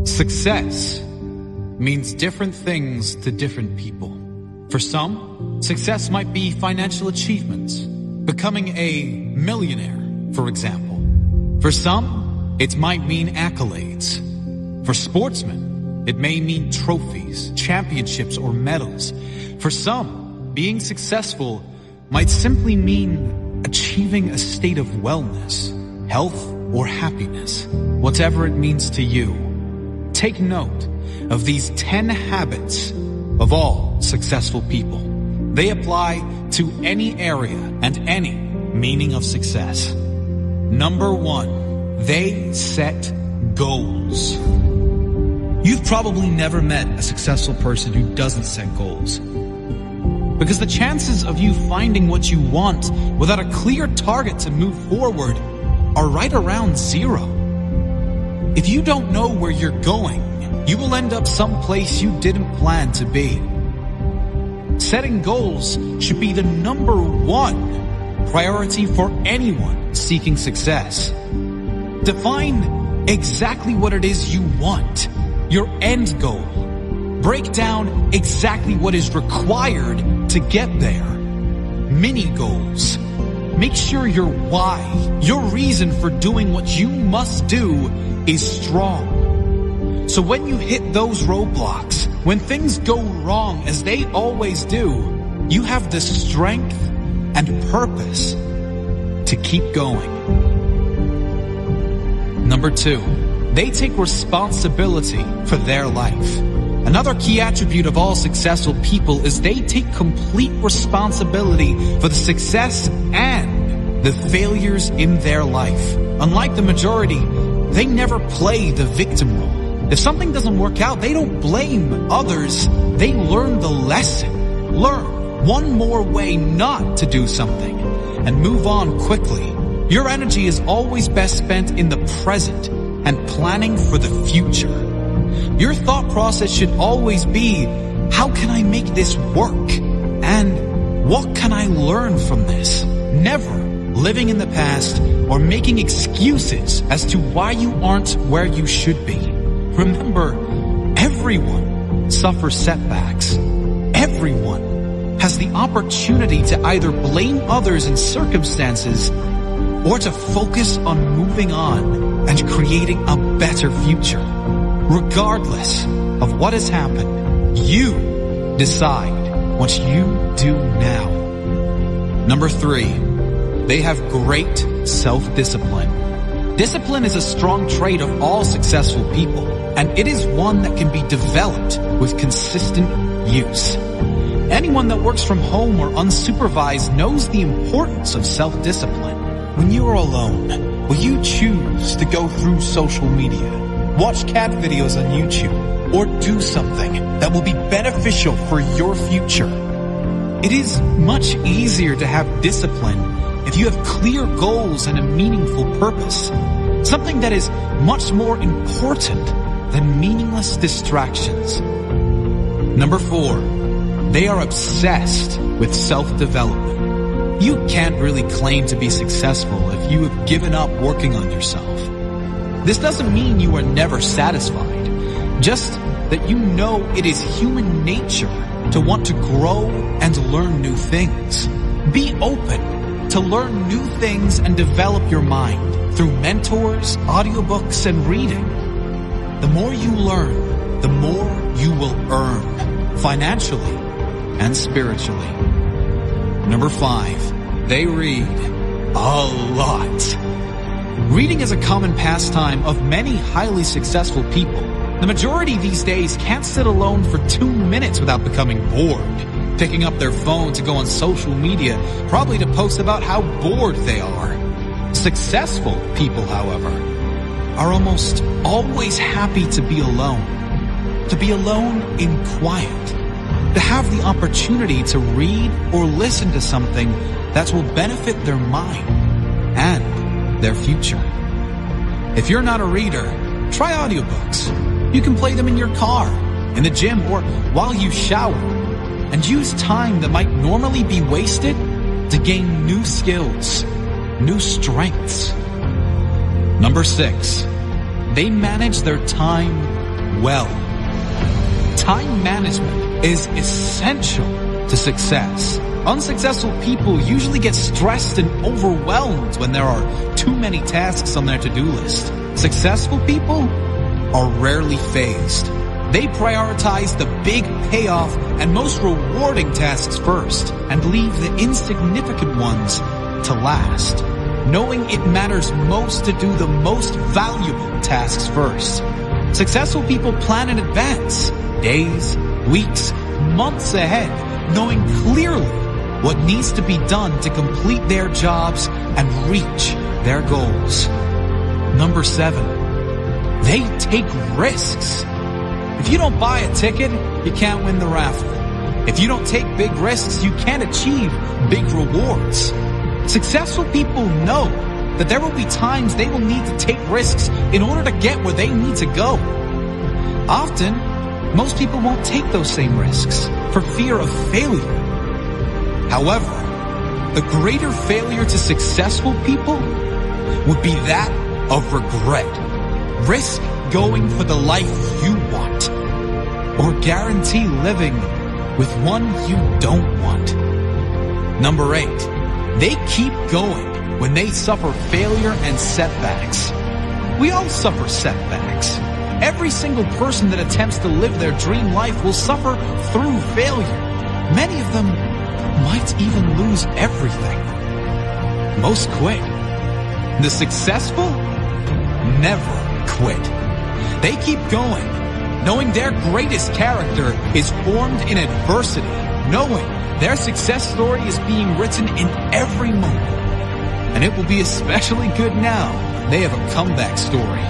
Success means different things to different people. For some, success might be financial achievements, becoming a millionaire, for example. For some, it might mean accolades. For sportsmen, it may mean trophies, championships, or medals. For some, being successful might simply mean achieving a state of wellness, health, or happiness. Whatever it means to you, take note of these 10 habits of all successful people. They apply to any area and any meaning of success. Number 1, they set goals. You've probably never met a successful person who doesn't set goals. Because the chances of you finding what you want without a clear target to move forward are right around 0. If you don't know where you're going, you will end up someplace you didn't plan to be. Setting goals should be the number 1 priority for anyone seeking success. Define exactly what it is you want, your end goal. Break down exactly what is required to get there. Mini goals. Make sure your why, your reason for doing what you must do, is strong. So when you hit those roadblocks, when things go wrong as they always do, you have the strength and purpose to keep going. Number 2, they take responsibility for their life. Another key attribute of all successful people is they take complete responsibility for the success and the failures in their life. Unlike the majority, they never play the victim role. If something doesn't work out, they don't blame others. They learn the lesson. Learn one more way not to do something and move on quickly. Your energy is always best spent in the present and planning for the future. Your thought process should always be, how can I make this work? And what can I learn from this? Never living in the past or making excuses as to why you aren't where you should be. Remember, everyone suffers setbacks. Everyone has the opportunity to either blame others and circumstances or to focus on moving on and creating a better future. Regardless of what has happened, you decide what you do now. Number 3, they have great self-discipline. Discipline is a strong trait of all successful people, and it is one that can be developed with consistent use. Anyone that works from home or unsupervised knows the importance of self-discipline. When you are alone, will you choose to go through social media, watch cat videos on YouTube, or do something that will be beneficial for your future? It is much easier to have discipline if you have clear goals and a meaningful purpose. Something that is much more important than meaningless distractions. Number 4, they are obsessed with self-development. You can't really claim to be successful if you have given up working on yourself. This doesn't mean you are never satisfied, just that you know it is human nature to want to grow and learn new things. Be open to learn new things and develop your mind through mentors, audiobooks, and reading. The more you learn, the more you will earn, financially and spiritually. Number 5, they read a lot. Reading is a common pastime of many highly successful people. The majority these days can't sit alone for 2 minutes without becoming bored, picking up their phone to go on social media, probably to post about how bored they are. Successful people, however, are almost always happy to be alone in quiet, to have the opportunity to read or listen to something that will benefit their mind and their future. If you're not a reader, try audiobooks. You can play them in your car, in the gym, or while you shower, and use time that might normally be wasted to gain new skills, new strengths. Number 6, they manage their time well. Time management is essential to success. Unsuccessful people usually get stressed and overwhelmed when there are too many tasks on their to-do list. Successful people are rarely phased. They prioritize the big payoff and most rewarding tasks first and leave the insignificant ones to last, knowing it matters most to do the most valuable tasks first. Successful people plan in advance, days, weeks, months ahead, knowing clearly what needs to be done to complete their jobs and reach their goals. Number 7, they take risks. If you don't buy a ticket, you can't win the raffle. If you don't take big risks, you can't achieve big rewards. Successful people know that there will be times they will need to take risks in order to get where they need to go. Often, most people won't take those same risks for fear of failure. However, the greater failure to successful people would be that of regret. Risk going for the life you want, or guarantee living with one you don't want. Number 8, they keep going when they suffer failure and setbacks. We all suffer setbacks. Every single person that attempts to live their dream life will suffer through failure. Many of them might even lose everything. Most quit. The successful never quit. They keep going, knowing their greatest character is formed in adversity, knowing their success story is being written in every moment. And it will be especially good now they have a comeback story.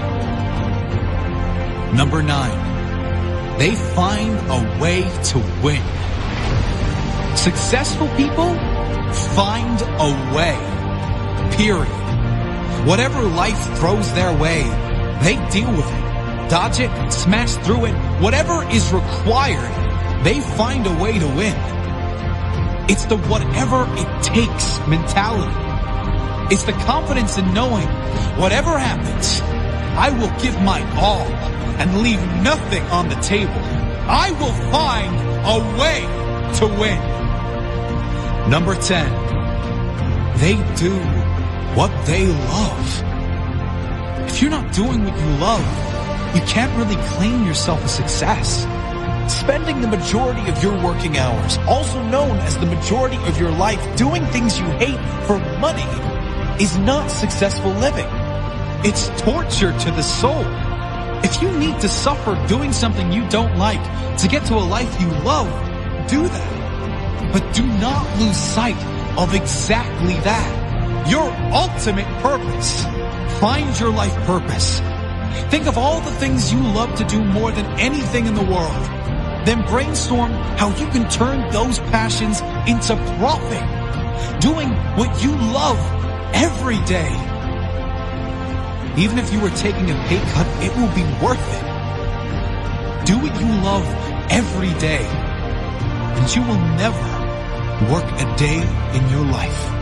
Number 9, they find a way to win. Successful people find a way. Period. Whatever life throws their way, they deal with it, dodge it, smash through it. Whatever is required, they find a way to win. It's the whatever it takes mentality. It's the confidence in knowing whatever happens, I will give my all and leave nothing on the table. I will find a way to win. Number 10, they do what they love. If you're not doing what you love, you can't really claim yourself a success. Spending the majority of your working hours, also known as the majority of your life, doing things you hate for money is not successful living. It's torture to the soul. If you need to suffer doing something you don't like to get to a life you love, do that. But do not lose sight of exactly that. Your ultimate purpose. Find your life purpose. Think of all the things you love to do more than anything in the world. Then brainstorm how you can turn those passions into profit. Doing what you love every day. Even if you were taking a pay cut, it will be worth it. Do what you love every day, and you will never work a day in your life.